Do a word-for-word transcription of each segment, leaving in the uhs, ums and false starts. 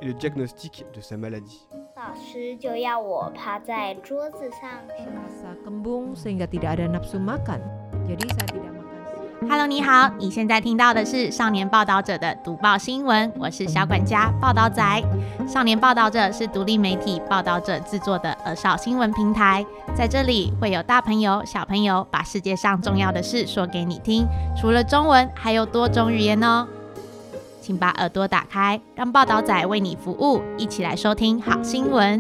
le diagnostic de sa maladie. 老師就要我趴在桌子上 Rasa kembung sehingga tidak ada nafsu makan. Jadi saya tidak makan siang. Hello， 你好，你現在聽到的是少年報導者的讀報新聞，我是小管家報導仔。少年報導者是獨立媒體報導者製作的兒少新聞平台，在這裡會有大朋友、小朋友把世界上重要的事說給你聽，除了中文，還有多種語言哦。請把耳朵打開，讓報導仔為你服務，一起來收聽好新聞。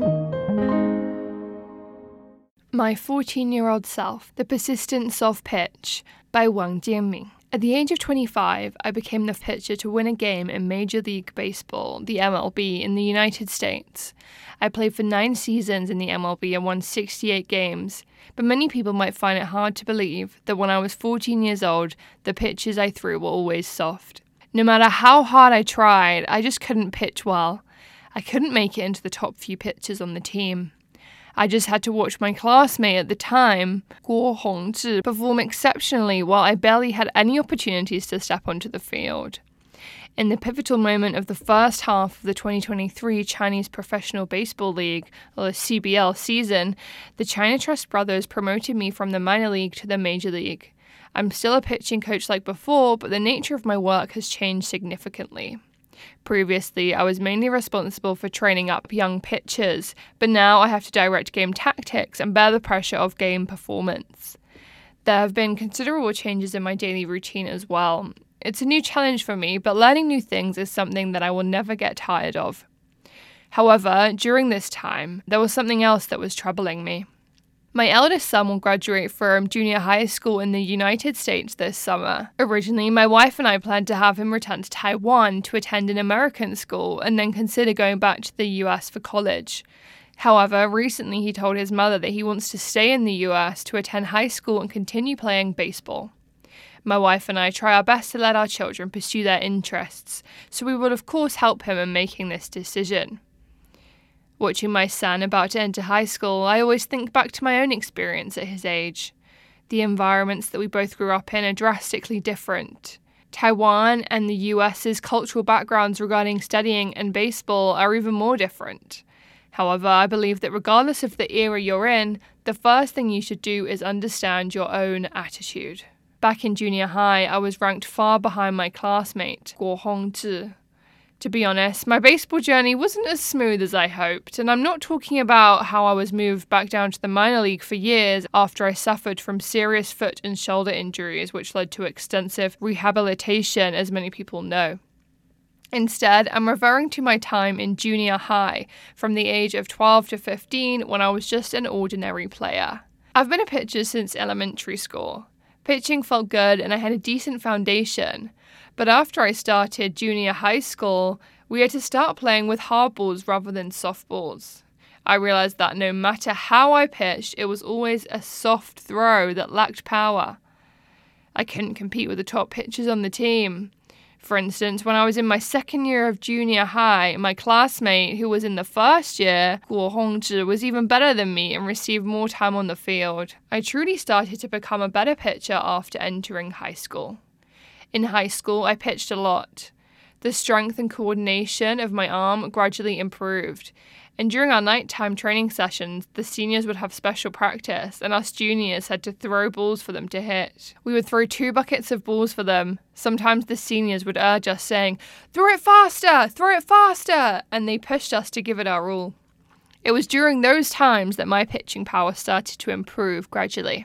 My fourteen-year-old Self, The Persistence of Pitch by Wang Jianming. At the age of twenty-five, I became the pitcher to win a game in Major League Baseball, the M L B, in the United States. I played for nine seasons in the M L B and won sixty-eight games, but many people might find it hard to believe that when I was fourteen years old, the pitches I threw were always soft. No matter how hard I tried, I just couldn't pitch well. I couldn't make it into the top few pitchers on the team. I just had to watch my classmate at the time, Guo Hongzhi, perform exceptionally while I barely had any opportunities to step onto the field. In the pivotal moment of the first half of the twenty twenty-three Chinese Professional Baseball League, or C B L, season, the China Trust brothers promoted me from the minor league to the major league. I'm still a pitching coach like before, but the nature of my work has changed significantly. Previously, I was mainly responsible for training up young pitchers, but now I have to direct game tactics and bear the pressure of game performance. There have been considerable changes in my daily routine as well. It's a new challenge for me, but learning new things is something that I will never get tired of. However, during this time, there was something else that was troubling me. My eldest son will graduate from junior high school in the United States this summer. Originally, my wife and I planned to have him return to Taiwan to attend an American school and then consider going back to the U S for college. However, recently he told his mother that he wants to stay in the U S to attend high school and continue playing baseball. My wife and I try our best to let our children pursue their interests, so we will of course help him in making this decision. Watching my son about to enter high school, I always think back to my own experience at his age. The environments that we both grew up in are drastically different. Taiwan and the U S's cultural backgrounds regarding studying and baseball are even more different. However, I believe that regardless of the era you're in, the first thing you should do is understand your own attitude. Back in junior high, I was ranked far behind my classmate, Guo Hongzhi. To be honest, my baseball journey wasn't as smooth as I hoped, and I'm not talking about how I was moved back down to the minor league for years after I suffered from serious foot and shoulder injuries, which led to extensive rehabilitation, as many people know. Instead, I'm referring to my time in junior high, from the age of twelve to fifteen, when I was just an ordinary player. I've been a pitcher since elementary school. Pitching felt good and I had a decent foundation. But after I started junior high school, we had to start playing with hard balls rather than soft balls. I realized that no matter how I pitched, it was always a soft throw that lacked power. I couldn't compete with the top pitchers on the team. For instance, when I was in my second year of junior high, my classmate, who was in the first year, Guo Hongzhi, was even better than me and received more time on the field. I truly started to become a better pitcher after entering high school. In high school, I pitched a lot. The strength and coordination of my arm gradually improved, and during our nighttime training sessions, the seniors would have special practice, and us juniors had to throw balls for them to hit. We would throw two buckets of balls for them. Sometimes the seniors would urge us, saying, "Throw it faster! Throw it faster!" and they pushed us to give it our all. It was during those times that my pitching power started to improve gradually.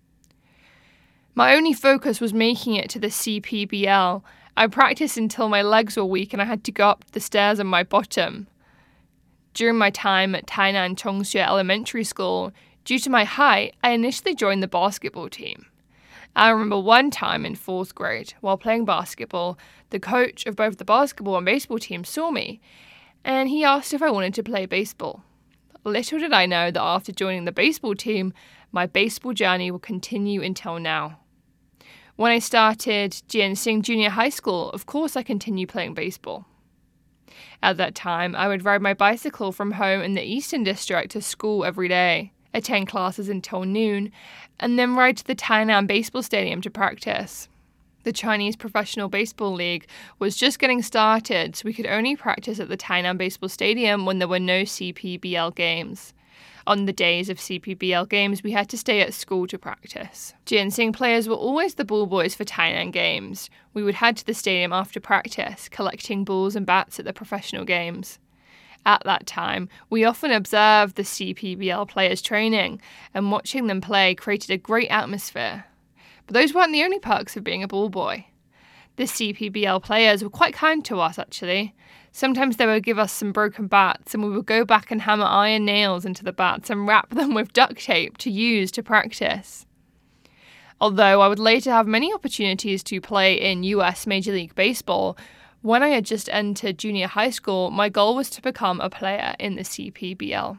My only focus was making it to the C P B L. I practiced until my legs were weak and I had to go up the stairs on my bottom. During my time at Tainan Chongxue Elementary School, due to my height, I initially joined the basketball team. I remember one time in fourth grade, while playing basketball, the coach of both the basketball and baseball teams saw me, and he asked if I wanted to play baseball. Little did I know that after joining the baseball team, my baseball journey will continue until now. When I started Jianxing Junior High School, of course I continued playing baseball. At that time, I would ride my bicycle from home in the Eastern District to school every day, attend classes until noon, and then ride to the Tainan Baseball Stadium to practice. The Chinese Professional Baseball League was just getting started, so we could only practice at the Tainan Baseball Stadium when there were no C P B L games. On the days of C P B L games, we had to stay at school to practice. Jianxing players were always the ball boys for Tainan games. We would head to the stadium after practice, collecting balls and bats at the professional games. At that time, we often observed the C P B L players training, and watching them play created a great atmosphere. But those weren't the only perks of being a ball boy. The C P B L players were quite kind to us, actually. Sometimes they would give us some broken bats, and we would go back and hammer iron nails into the bats and wrap them with duct tape to use to practice. Although I would later have many opportunities to play in U S Major League Baseball, when I had just entered junior high school, my goal was to become a player in the C P B L.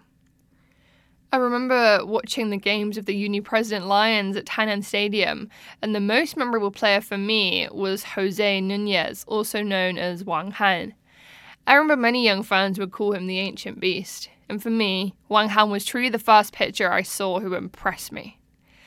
I remember watching the games of the Uni President Lions at Tainan Stadium, and the most memorable player for me was Jose Nunez, also known as Wang Han. I remember many young fans would call him the Ancient Beast, and for me, Wang Han was truly the first pitcher I saw who impressed me.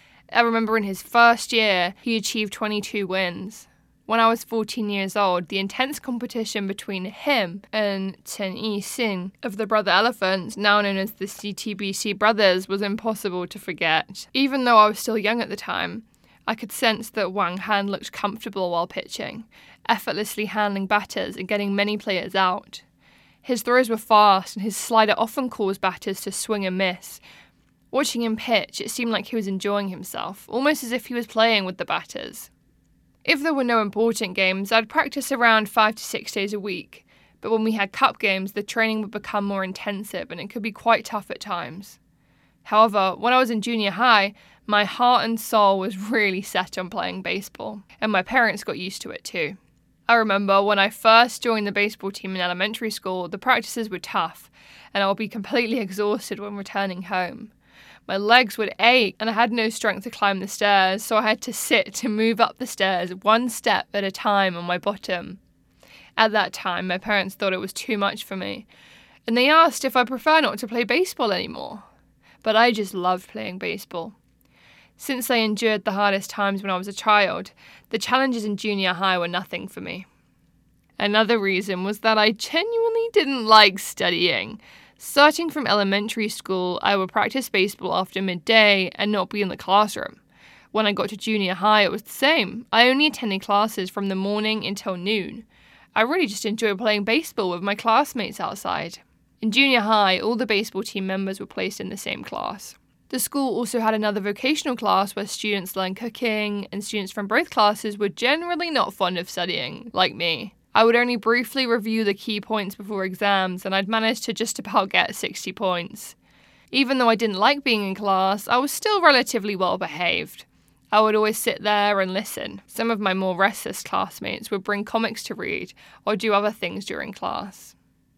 I remember in his first year, he achieved twenty-two wins. When I was fourteen years old, the intense competition between him and Chen Yixin of the Brother Elephants, now known as the C T B C Brothers, was impossible to forget. Even though I was still young at the time, I could sense that Wang Han looked comfortable while pitching, effortlessly handling batters and getting many players out. His throws were fast, and his slider often caused batters to swing and miss. Watching him pitch, it seemed like he was enjoying himself, almost as if he was playing with the batters. If there were no important games, I'd practice around five to six days a week, but when we had cup games, the training would become more intensive and it could be quite tough at times. However, when I was in junior high, my heart and soul was really set on playing baseball, and my parents got used to it too. I remember when I first joined the baseball team in elementary school, the practices were tough, and I would be completely exhausted when returning home. My legs would ache, and I had no strength to climb the stairs, so I had to sit to move up the stairs one step at a time on my bottom. At that time, my parents thought it was too much for me, and they asked if I prefer not to play baseball anymore. But I just loved playing baseball. Since I endured the hardest times when I was a child, the challenges in junior high were nothing for me. Another reason was that I genuinely didn't like studying. Starting from elementary school, I would practice baseball after midday and not be in the classroom. When I got to junior high, it was the same. I only attended classes from the morning until noon. I really just enjoyed playing baseball with my classmates outside. In junior high, all the baseball team members were placed in the same class. The school also had another vocational class where students learned cooking, and students from both classes were generally not fond of studying, like me. I would only briefly review the key points before exams, and I'd managed to just about get sixty points. Even though I didn't like being in class, I was still relatively well behaved. I would always sit there and listen. Some of my more restless classmates would bring comics to read or do other things during class.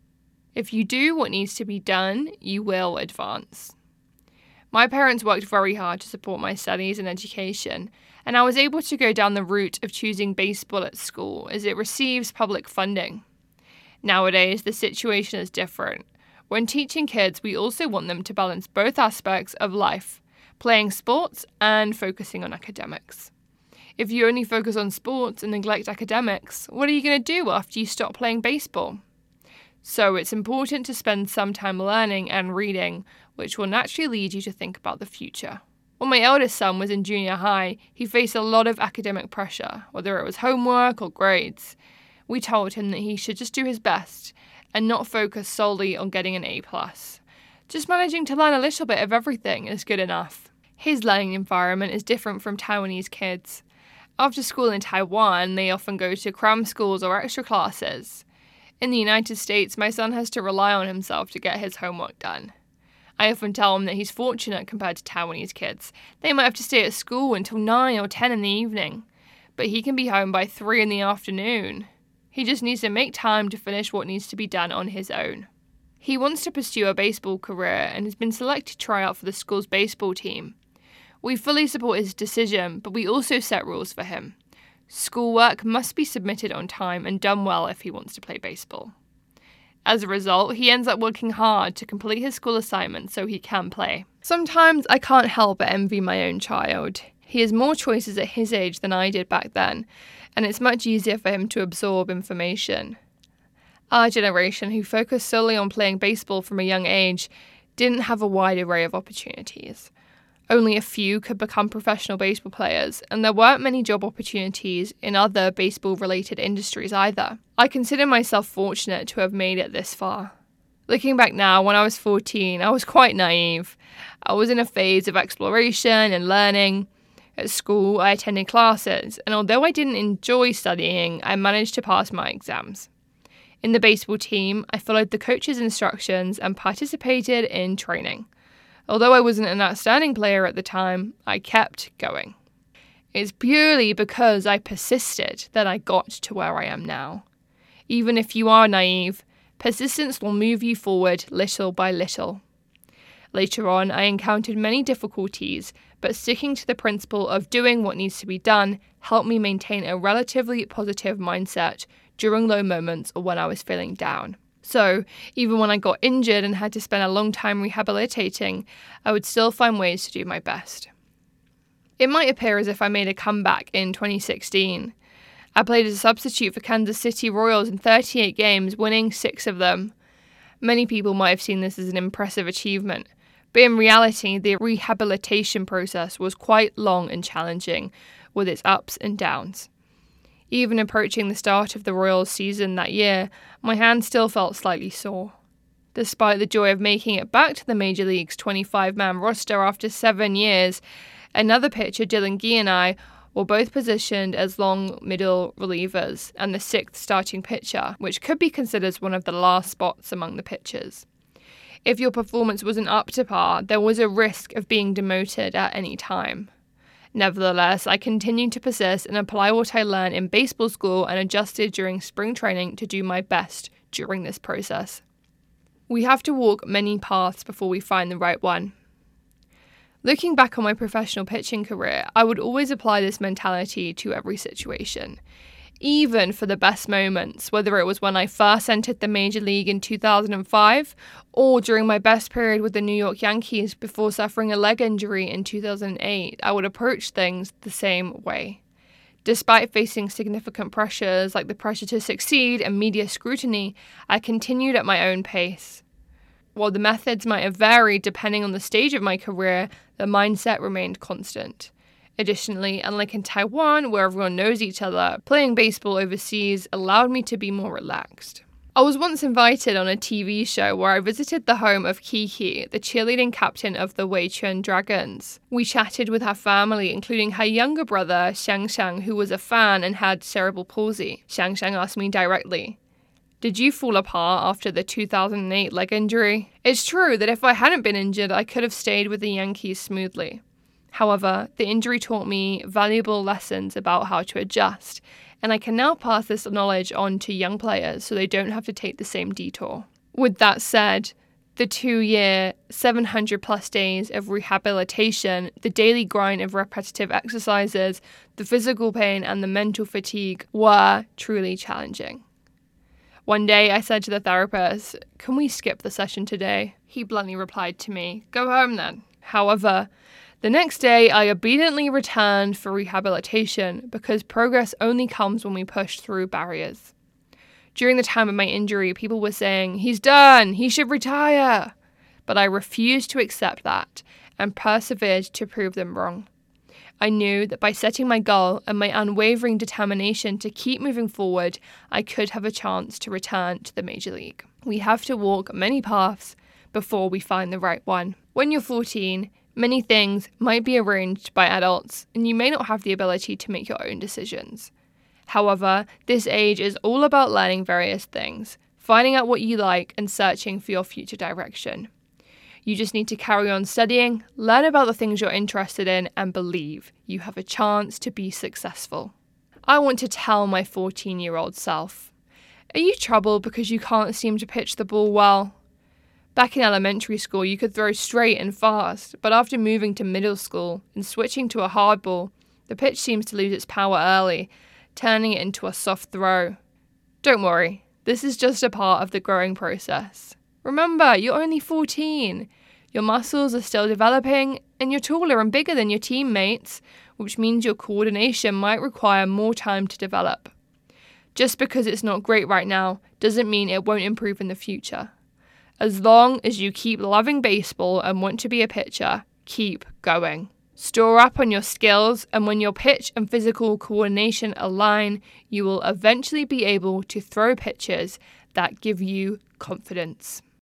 If you do what needs to be done, you will advance. My parents worked very hard to support my studies and education, and I was able to go down the route of choosing baseball at school as it receives public funding. Nowadays, the situation is different. When teaching kids, we also want them to balance both aspects of life, playing sports and focusing on academics. If you only focus on sports and neglect academics, what are you going to do after you stop playing baseball? So it's important to spend some time learning and reading, which will naturally lead you to think about the future. When my eldest son was in junior high, he faced a lot of academic pressure, whether it was homework or grades. We told him that he should just do his best and not focus solely on getting an A plus. Just managing to learn a little bit of everything is good enough. His learning environment is different from Taiwanese kids. After school in Taiwan, they often go to cram schools or extra classes. In the United States, my son has to rely on himself to get his homework done. I often tell him that he's fortunate compared to Taiwanese kids. They might have to stay at school until nine or ten in the evening, but he can be home by three in the afternoon. He just needs to make time to finish what needs to be done on his own. He wants to pursue a baseball career and has been selected to try out for the school's baseball team. We fully support his decision, but we also set rules for him. Schoolwork must be submitted on time and done well if he wants to play baseball. As a result, he ends up working hard to complete his school assignments so he can play. Sometimes I can't help but envy my own child. He has more choices at his age than I did back then, and it's much easier for him to absorb information. Our generation, who focused solely on playing baseball from a young age, didn't have a wide array of opportunities. Only a few could become professional baseball players, and there weren't many job opportunities in other baseball-related industries either. I consider myself fortunate to have made it this far. Looking back now, when I was fourteen, I was quite naive. I was in a phase of exploration and learning. At school, I attended classes, and although I didn't enjoy studying, I managed to pass my exams. In the baseball team, I followed the coach's instructions and participated in training. Although I wasn't an outstanding player at the time, I kept going. It's purely because I persisted that I got to where I am now. Even if you are naive, persistence will move you forward little by little. Later on, I encountered many difficulties, but sticking to the principle of doing what needs to be done helped me maintain a relatively positive mindset during low moments or when I was feeling down. So, even when I got injured and had to spend a long time rehabilitating, I would still find ways to do my best. It might appear as if I made a comeback in twenty sixteen. I played as a substitute for Kansas City Royals in thirty-eight games, winning six of them. Many people might have seen this as an impressive achievement, but in reality, the rehabilitation process was quite long and challenging, with its ups and downs. Even approaching the start of the Royals season that year, my hand still felt slightly sore. Despite the joy of making it back to the Major League's twenty-five man roster after seven years, another pitcher, Dylan Gee, and I were both positioned as long middle relievers and the sixth starting pitcher, which could be considered one of the last spots among the pitchers. If your performance wasn't up to par, there was a risk of being demoted at any time. Nevertheless, I continued to persist and apply what I learned in baseball school and adjusted during spring training to do my best during this process. We have to walk many paths before we find the right one. Looking back on my professional pitching career, I would always apply this mentality to every situation. Even for the best moments, whether it was when I first entered the Major League in two thousand five or during my best period with the New York Yankees before suffering a leg injury in two thousand eight, I would approach things the same way. Despite facing significant pressures like the pressure to succeed and media scrutiny, I continued at my own pace. While the methods might have varied depending on the stage of my career, the mindset remained constant. Additionally, unlike in Taiwan, where everyone knows each other, playing baseball overseas allowed me to be more relaxed. I was once invited on a T V show where I visited the home of Kiki, the cheerleading captain of the Weichun Dragons. We chatted with her family, including her younger brother, Xiang Xiang, who was a fan and had cerebral palsy. Xiang Xiang asked me directly, "Did you fall apart after the two thousand eight leg injury?" It's true that if I hadn't been injured, I could have stayed with the Yankees smoothly. However, the injury taught me valuable lessons about how to adjust, and I can now pass this knowledge on to young players so they don't have to take the same detour. With that said, the two-year, seven hundred plus days of rehabilitation, the daily grind of repetitive exercises, the physical pain and the mental fatigue were truly challenging. One day I said to the therapist, "Can we skip the session today?" He bluntly replied to me, "Go home then." However, the next day, I obediently returned for rehabilitation because progress only comes when we push through barriers. During the time of my injury, people were saying, "He's done, he should retire." But I refused to accept that and persevered to prove them wrong. I knew that by setting my goal and my unwavering determination to keep moving forward, I could have a chance to return to the Major League. We have to walk many paths before we find the right one. When you're fourteen, many things might be arranged by adults, and you may not have the ability to make your own decisions. However, this age is all about learning various things, finding out what you like, and searching for your future direction. You just need to carry on studying, learn about the things you're interested in, and believe you have a chance to be successful. I want to tell my fourteen-year-old self, are you troubled because you can't seem to pitch the ball well? Back in elementary school, you could throw straight and fast, but after moving to middle school and switching to a hard ball, the pitch seems to lose its power early, turning it into a soft throw. Don't worry, this is just a part of the growing process. Remember, you're only fourteen. Your muscles are still developing, and you're taller and bigger than your teammates, which means your coordination might require more time to develop. Just because it's not great right now doesn't mean it won't improve in the future. As long as you keep loving baseball and want to be a pitcher, keep going. Store up on your skills, and when your pitch and physical coordination align, you will eventually be able to throw pitches that give you confidence.